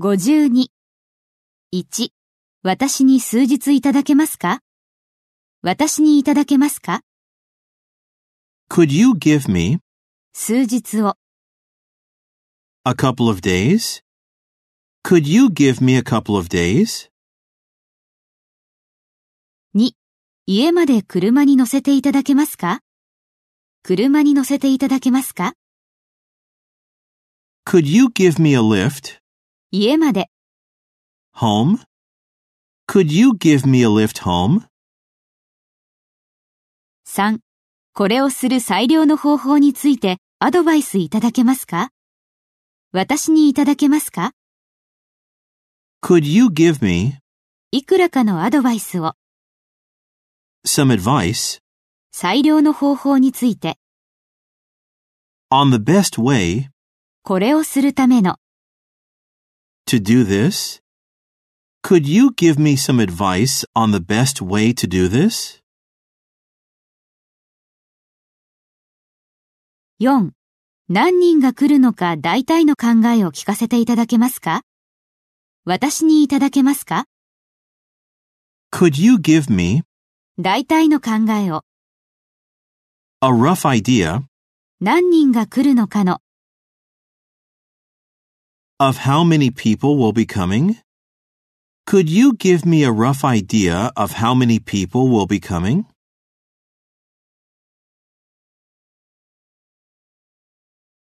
52。1、私に数日いただけますか？私にいただけますか？ Could you give me 数日を。 a couple of days? Could you give me a couple of days? 2、家まで車に乗せていただけますか？車に乗せていただけますか？ Could you give me a lift 家まで。 home? Could you give me a lift home? 3、これをする最良の方法についてアドバイスいただけますか？私にいただけますか？ Could you give me いくらかのアドバイスを。 some advice 最良の方法について。 on the best way これをするための。 to do this? Could you give me some advice on the best way to do this? 4、何人が来るのか大体の考えを聞かせていただけますか？私にいただけますか？ Could you give me 大体の考えを。 a rough idea 何人が来るのかの。 of how many people will be coming? Could you give me a rough idea of how many people will be coming?